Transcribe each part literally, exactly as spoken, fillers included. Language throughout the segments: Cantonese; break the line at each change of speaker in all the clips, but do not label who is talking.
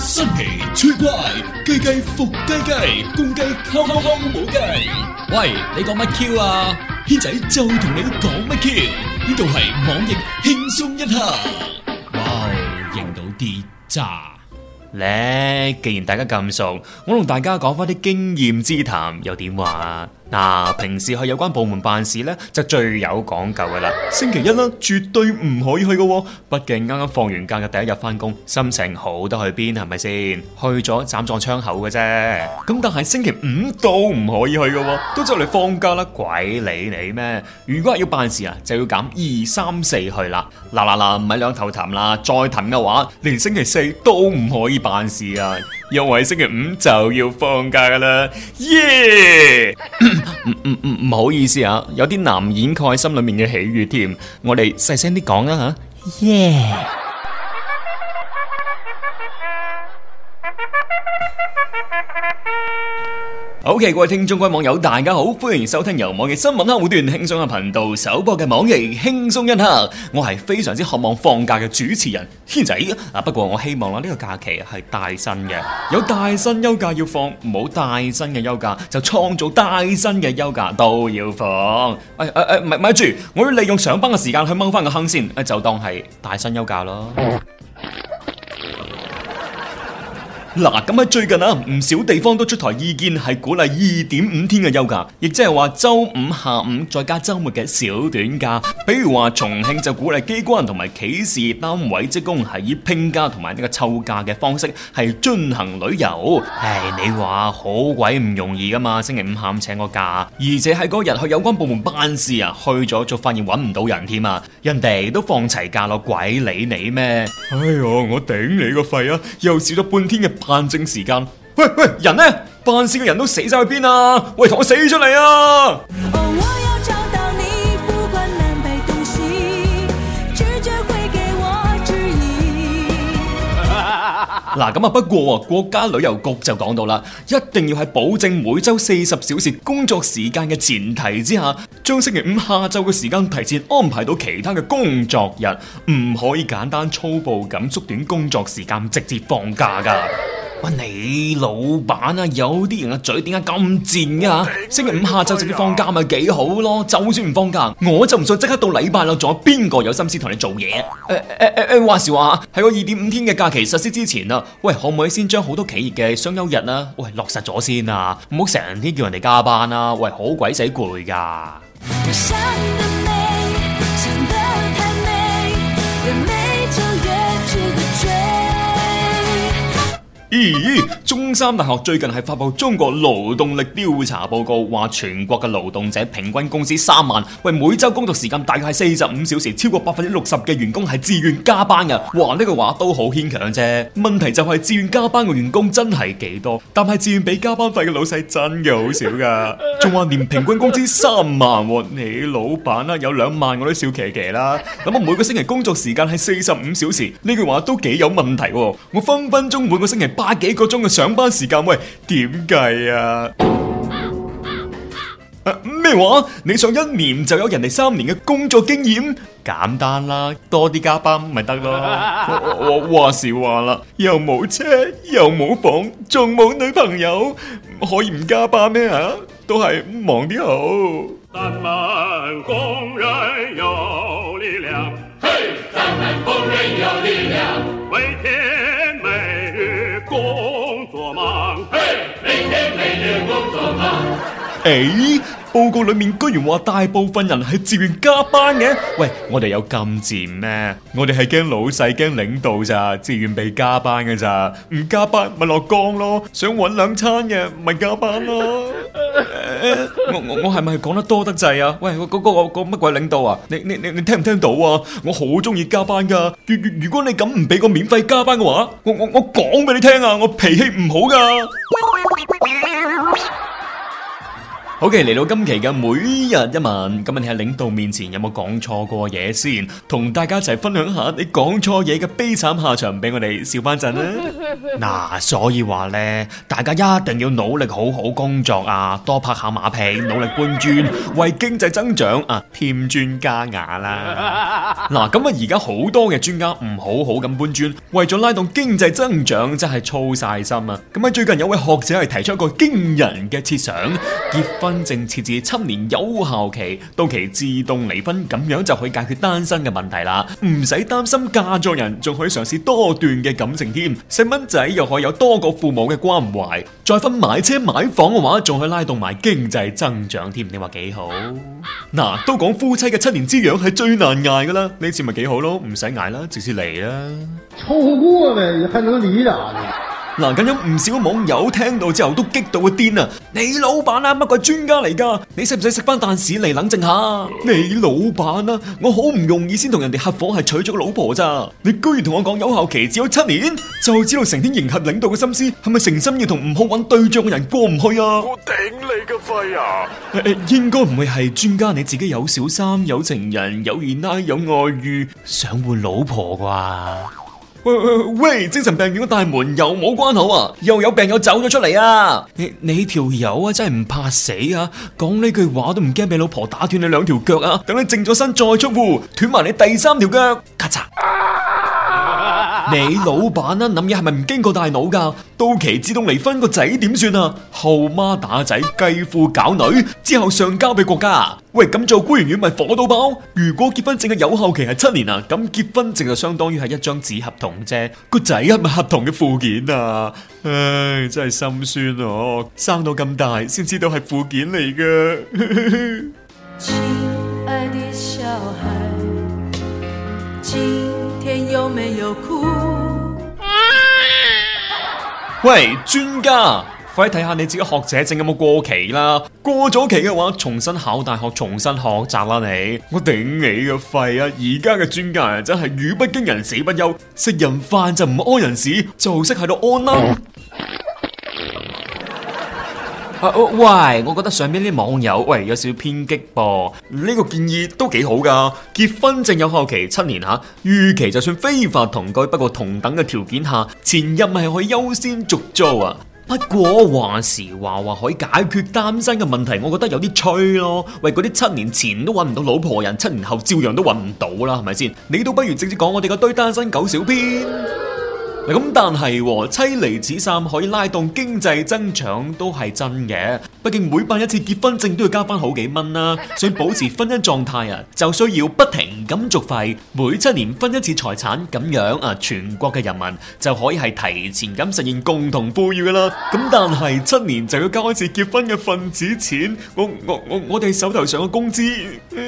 新奇趣怪，雞雞伏雞雞，公雞敲敲敲冇雞。喂，你講乜 Q 啊？軒仔就同你講乜 Q？呢度係網易輕鬆一刻。哇，認到啲渣
咧！既然大家咁熟，我同大家講翻啲經驗之談又點話？嗱、啊，平時去有關部門辦事呢，就最有講究噶啦。星期一啦，絕對唔可以去噶、哦，畢竟啱啱放完假嘅第一日翻工，心情好得去邊係咪先？去咗斬撞窗口嘅啫。咁但係星期五都唔可以去噶、哦，都就嚟放假啦，鬼理你咩？如果係要辦事啊，就要揀二三四去啦。嗱嗱嗱，唔係兩頭談啦，再談嘅話，連星期四都唔可以辦事啊，因為星期五就要放假噶啦，耶、yeah! 唔唔唔唔好意思啊，有啲難掩蓋心裏面嘅喜悅添，我哋細聲啲講啦吓，耶！OK， 各位聽眾、各位網友，大家好，歡迎收聽由網易新聞客戶端輕鬆嘅頻道首播嘅網易輕鬆一刻。我係非常之渴望放假嘅主持人軒仔啊！不過我希望啦，呢個假期係帶薪嘅，有帶薪休假要放，冇帶薪嘅休假就創造帶薪嘅休假都要放。誒誒誒，咪咪住，我要利用上班嘅時間去掹翻個坑先，就當係帶薪休假咯。嗱，咁喺最近啊，唔少地方都出台意見，係鼓勵二點五天嘅休假，亦即係話周五下午再加周末嘅小短假。比如話重慶就鼓勵機關同埋企事單位職工係以拼假同埋呢個湊假嘅方式係進行旅遊。唉，你話好鬼唔容易噶嘛？星期五下午請個假，而且喺嗰日去有關部門辦事啊，去咗就發現揾唔到人添啊！人哋都放齊假咯，鬼理你咩？哎喲，我頂你個肺啊！又少咗半天嘅辦證時間，喂喂，人呢？辦事嘅人都死晒去邊啊？喂，同我死出嚟啊！哦，我要找到你，不管南北東西，直覺會給我指引。嗱，咁啊，不過國家旅遊局就講到啦，一定要喺保證每周四十小時工作時間嘅前提之下，將星期五下晝嘅時間提前安排到其他嘅工作日，唔可以簡單粗暴咁縮短工作時間，直接放假噶。喂，你老闆啊，有啲人嘅嘴點解咁賤啊？星期五下晝直接放假咪幾好咯？就算唔放假，我就唔信即刻到禮拜啦，仲有邊個有心思同你做嘢？誒誒誒誒，話時話喺個二點五天嘅假期實施之前啊，喂，可唔可以先將好多企業嘅雙休日啊，喂，落實咗先啊？唔好成天叫人哋加班啊！喂，好鬼死攰噶。咦，中山大學最近係發布中國勞動力調查報告，話全國嘅勞動者平均工資三萬，喂，每周工作時間大概係四十五小時，超過百分之六十嘅員工係自願加班嘅。哇，呢句話都好牽強啫。問題就係自願加班嘅員工真係幾多，但係自願俾加班費嘅老細真嘅好少噶。仲話連平均工資三萬，你老闆啊有兩萬我都笑騎騎啦。咁我每個星期工作時間係四十五小時，呢句話都幾有問題。我分分鐘每個星期百幾個鐘嘅上班時間，喂，點計啊？咩話？你上一年就有人哋三年嘅工作經驗？簡單啦，多啲加班咪得咯。我我話時話啦，又冇車，又冇房，仲冇女朋友，可以唔加班咩啊？都係忙啲好。咱們工人有力量，嘿，咱們工人有力量，每天每日工作忙，嘿，每天每日工作忙。誒，報告裏面居然話大部分人係自願加班嘅。喂，我哋有咁賤咩？我哋係驚老細驚領導咋，自願被加班嘅咋，唔加班咪落崗咯，想搵兩餐嘅咪加班咯。我我我係咪講得多得滯啊？喂，嗰嗰個個乜鬼領導啊？你你你你聽唔聽到啊？我好中意加班噶，如如如果你咁唔俾個免費加班嘅話，我我我講俾你聽啊，我脾氣唔好噶。 OK，嚟到今期嘅每日一問，今日你喺領導面前有冇講錯過嘢先？同大家一齊分享下你講錯嘢嘅悲慘下場，俾我哋笑翻陣啦。嗱，所以話呢，大家一定要努力好好工作啊，多拍下馬屁，努力搬磚，為經濟增長啊添磚加瓦啦。嗱，咁啊，而家好多嘅專家唔好好咁搬磚，為咗拉動經濟增長，真係操晒心啊！咁喺最近有位學者係提出一個驚人嘅設想，結婚證設置七年有效期，到期自動離婚，咁樣就可以解決單身嘅問題啦，唔使擔心嫁錯人，仲可以嘗試多段嘅感情添。細蚊仔又可以有多個父母嘅關懷，再分買車買房嘅話，仲可以拉動埋經濟增長添。你話幾好？嗱，都講夫妻嘅七年之癢係最難捱噶啦，呢次咪幾好咯，唔使捱啦，直接嚟啦。
抽過唄，還能離咋呢？
嗱，咁有唔少網友聽到之後都激到個癲啊！你老闆啊，乜鬼專家嚟噶？你使唔使食翻啖屎嚟冷靜下？你老闆啊，我好唔容易先同人哋合夥係娶咗個老婆咋？你居然同我講有效期只有七年，就知道成天迎合領導嘅心思，係咪誠心要同唔好揾對象嘅人過唔去啊？
我頂你個肺啊！
誒誒，應該唔會係專家你自己有小三、有情人、有二奶、有外遇，想換老婆啩？喂喂喂！精神病院嘅大門又冇關口啊，又有病友走咗出嚟啊！你你條友啊，真係唔怕死啊！講呢句話都唔驚俾老婆打斷你兩條腳啊！等你靜咗身再出戶，斷埋你第三條腳，咔嚓！你老闆啊，諗嘢係咪唔經過大腦噶？到期自動離婚個仔點算啊？後媽打仔，繼父搞女，之後上交俾國家。喂，咁做孤兒院咪火到爆？如果結婚證嘅有效期係七年啊，咁結婚證就相當於係一張紙合同啫。個仔係咪合同嘅附件啊？唉，真係心酸哦！生到咁大先知道係附件嚟噶。
親愛的小孩，今天有沒有哭？
喂，專家，快啲睇下你自己學者證有冇過期啦！過咗期嘅話，重新考大學，重新學習啦你！我頂你個肺啊！而家嘅專家啊，真係語不驚人死不休，食人飯就唔屙人屎，就識喺度屙啦！啊、喂，我覺得上邊啲網友喂有少少偏激噃，呢、這個建議都幾好噶。結婚證有效期七年吓，逾期就算非法同居，不過同等嘅條件下，前任係可以優先續租啊。不過話時話話可以解決單身嘅問題，我覺得有啲吹咯。喂，嗰啲七年前都揾唔到老婆人，七年後照樣都揾唔到啦，係咪先？你都不如直接講我哋個堆單身狗小編。咁但係妻離子散可以拉動經濟增長都係真嘅，畢竟每辦一次結婚證都要加翻好幾蚊啦，想保持婚姻狀態啊，就需要不停咁續費，每七年分一次財產，咁樣啊，全國嘅人民就可以係提前咁實現共同富裕噶啦。咁但係七年就要交一次結婚嘅份子錢，我我我我哋手頭上嘅工資。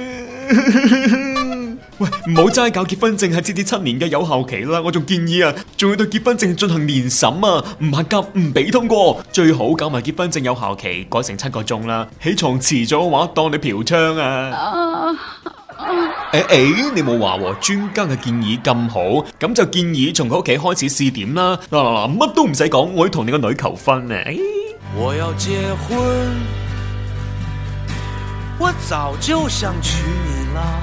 喂，唔好齋搞結婚證係設置七年嘅有效期啦，我仲建議啊，仲要對結婚證進行年審啊，唔合格唔俾通過，最好搞埋結婚證有效期改成七個鐘啦，起床遲咗嘅話當你嫖娼啊！誒誒，你冇話專家嘅建議咁好，咁就建議從佢屋企開始試點啦。嗱嗱嗱，乜都唔使講，我要同你個女求婚啊！
我要結婚，我早就想娶你啦。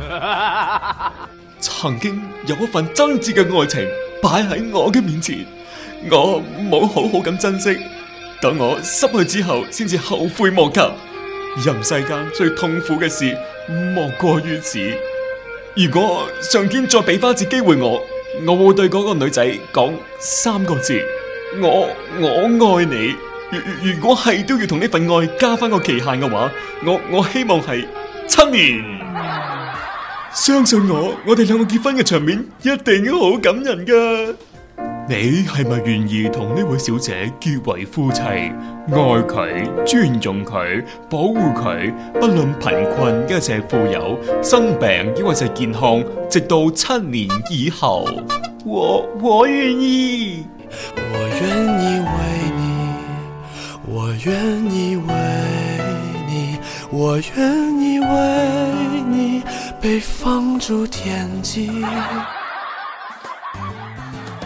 曾經有一份真摯嘅愛情擺喺我嘅面前，我冇好好咁珍惜，等我失去之後先至後悔莫及。人世間最痛苦嘅事莫過於此。如果上天再俾翻一次機會我，我會對嗰個女仔講三個字：我我愛你。如如果係都要同呢份愛加翻個期限嘅話，我我希望係七年。相信我，我哋兩個結婚嘅場面一定好感人噶。你係咪願意同呢位小姐結為夫妻，愛佢、尊重佢、保護佢，不論貧困一切富有，生病抑或係健康，直到七年以後？我我願意，
我願意為你，我願意為你，我願意為你被放逐天際。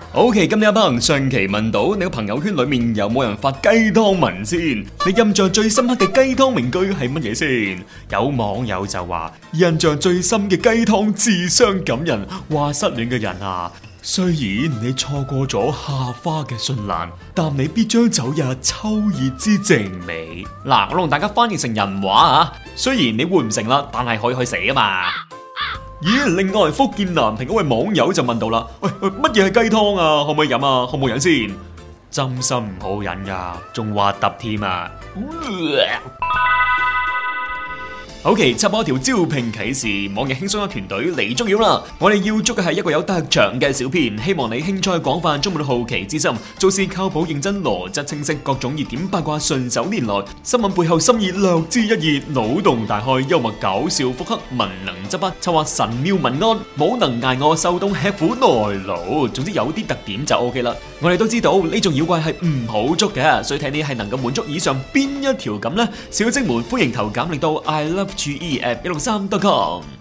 OK， 今日阿鵬上期問到你個朋友圈裏面有冇人發雞湯文先？你印象最深刻嘅雞湯名句係乜嘢先？有網友就話印象最深嘅雞湯至傷感人，話失戀嘅人啊，雖然你錯過咗夏花嘅絢爛，但你必將走入秋葉之靜美。嗱，我同大家翻譯成人話啊，雖然你換唔成啦，但係可以去死啊嘛。咦，另外福建南平嗰位網友就問到啦，喂喂，乜嘢係雞湯啊？可唔可以飲啊？可唔可以飲先？真心唔好飲噶，仲核突添啊！OK， 插播一條招聘啟事，網易輕鬆一團隊嚟捉妖啦！我哋要捉嘅係一個有特長嘅小編，希望你興趣廣泛，充滿好奇之心，做事靠譜認真，邏輯清晰，各種熱點八卦順手拈來，新聞背後深意略知一二，腦洞大開，幽默搞笑，腹黑文能執筆，策劃神妙文案，武能挨餓受凍吃苦耐勞，總之有啲特點就 OK 啦。我哋都知道呢種妖怪係唔好捉嘅，所以睇你係能夠滿足以上邊一條咁呢？小精們歡迎投簡歷到 I love G E at 一六三 dot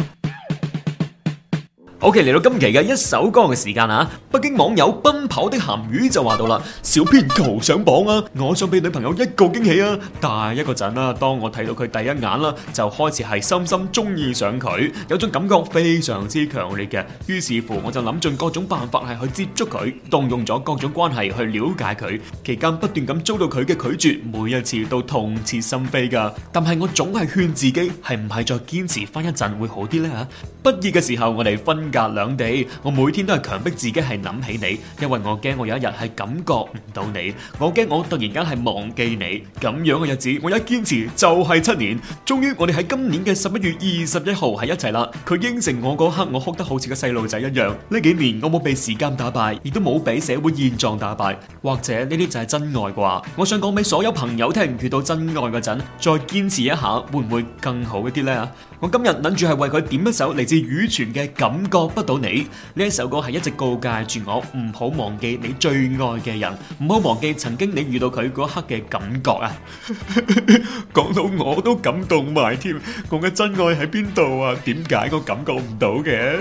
com。OK， 嚟到今期嘅一首歌嘅時間啊！北京網友奔跑的鹹魚就話到啦，小編求上榜啊！我想俾女朋友一個驚喜啊！但係一個陣啦，當我睇到佢第一眼啦，就開始係深深中意上佢，有種感覺非常之強烈嘅。於是乎，我就諗盡各種辦法係去接觸佢，動用咗各種關係去了解佢。期間不斷咁遭到佢嘅拒絕，每一次都痛徹心扉噶。但係我總係勸自己，係唔係再堅持翻一陣會好啲呢？吓，畢業嘅時候我哋分隔兩地，我每天都係強迫自己係諗起你，因為我驚我有一日係感覺唔到你，我驚我突然間係忘記你。咁樣嘅日子，我一堅持就係七年。終於我哋喺今年嘅十一月二十一號喺一齊啦。佢應承我嗰刻，我哭得好似個細路仔一樣。呢幾年我冇被時間打敗，亦都冇俾社會現狀打敗，或者呢啲就係真愛啩？我想講俾所有朋友聽，遇到真愛嗰陣，再堅持一下，會唔會更好一啲呢？我今日諗住係為佢點一首嚟自羽泉嘅《感覺不到你》。呢一首歌係一直告誡住我唔好忘記你最愛嘅人，唔好忘記曾經你遇到佢嗰刻嘅感覺啊！講到我都感動埋添，我嘅真愛喺邊度啊？點解我感覺唔到嘅？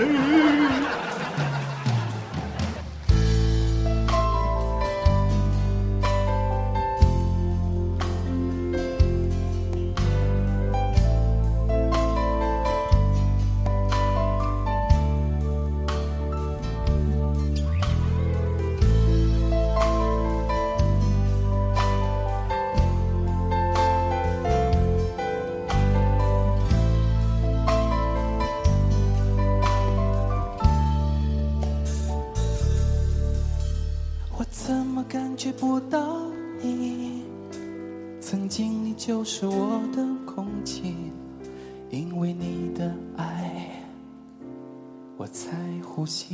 怎么感觉不到你？曾经你就是我的空气，因为你的爱，我才呼吸。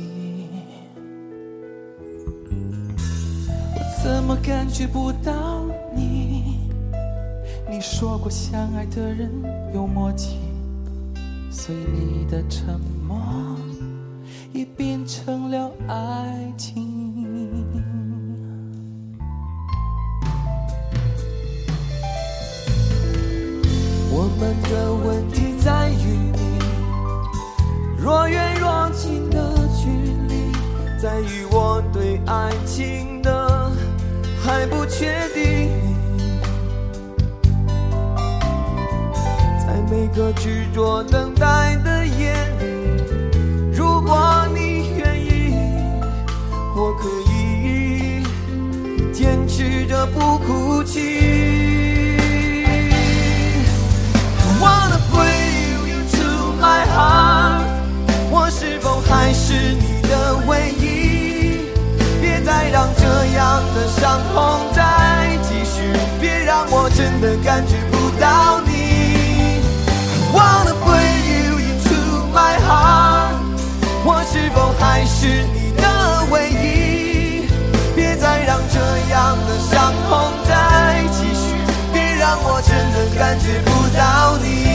我怎么感觉不到你？你说过相爱的人有默契，所以你的沉默也变成了爱情。我们的问题在于你若远若近的距离，在于我对爱情的还不确定。在每个执着等待的夜里，如果你愿意，我可以坚持着不哭泣。Wanna bring you to my heart， 我是否还是你的唯一？别再让这样的伤痛再继续，别让我真的感觉不到你。Wanna bring you into my heart， 我是否还是你的唯一？别再让这样的伤痛再继续，别让我真的感觉不到你。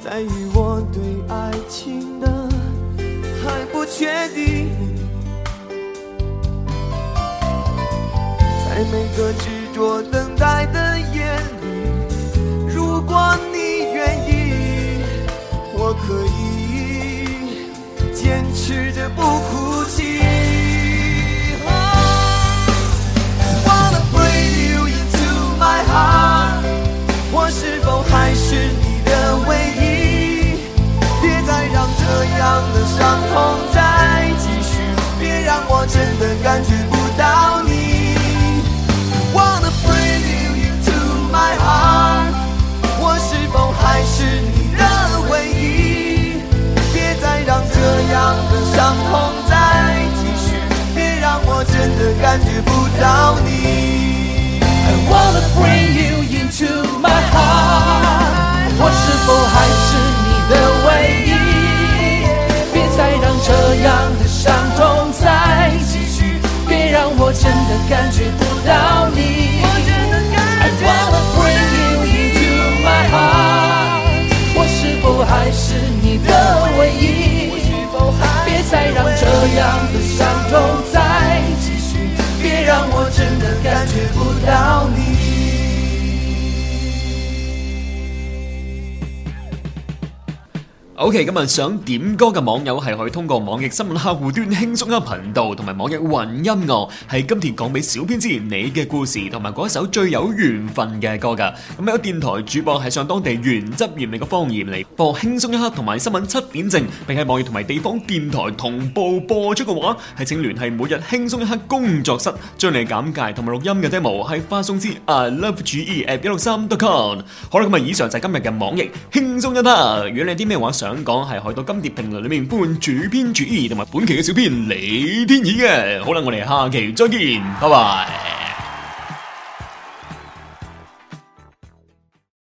在于我对愛情的還不確定，在每個執着等待的夜裡，如果你願意，我可以堅持着不哭泣。Wanna bring you into my heart， 我是否還是你的唯一？別再讓這樣的傷痛再繼續，別讓我真的感覺不到你。Wanna bring you into my heart， 我是否還是你的唯一？別再讓這樣的傷痛再繼續，別讓我真的感覺不到你。I wanna bring you into my heart， 我是否還是你的唯一？別再讓這樣的傷痛再繼續，別讓我真的感覺不到你。I wanna bring you into my heart， 我是否還是你的唯一？別再讓這樣的傷痛再繼續，別讓我真的感覺不到你。
OK， 咁啊，想點歌嘅網友係可以通過網易新聞客戶端輕鬆一刻頻道同埋網易雲音樂，係今天講俾小編知你嘅故事同埋嗰一首最有緣分嘅歌噶。咁有電台主播係上當地原汁原味嘅方言嚟播輕鬆一刻同埋新聞七點正，並喺網易同埋地方電台同步播出嘅話，係請聯繫每日輕鬆一刻工作室，將你簡介同埋錄音嘅 demo 係發送至 I love G E at 一六三 dot com。好啦，咁啊，以上就係今日嘅網易輕鬆一刻。如果你有啲咩話想想講係去到金碟評論裏面歡迎主編主義同埋本期嘅小編李天意嘅。好啦，我哋下期再見，拜拜。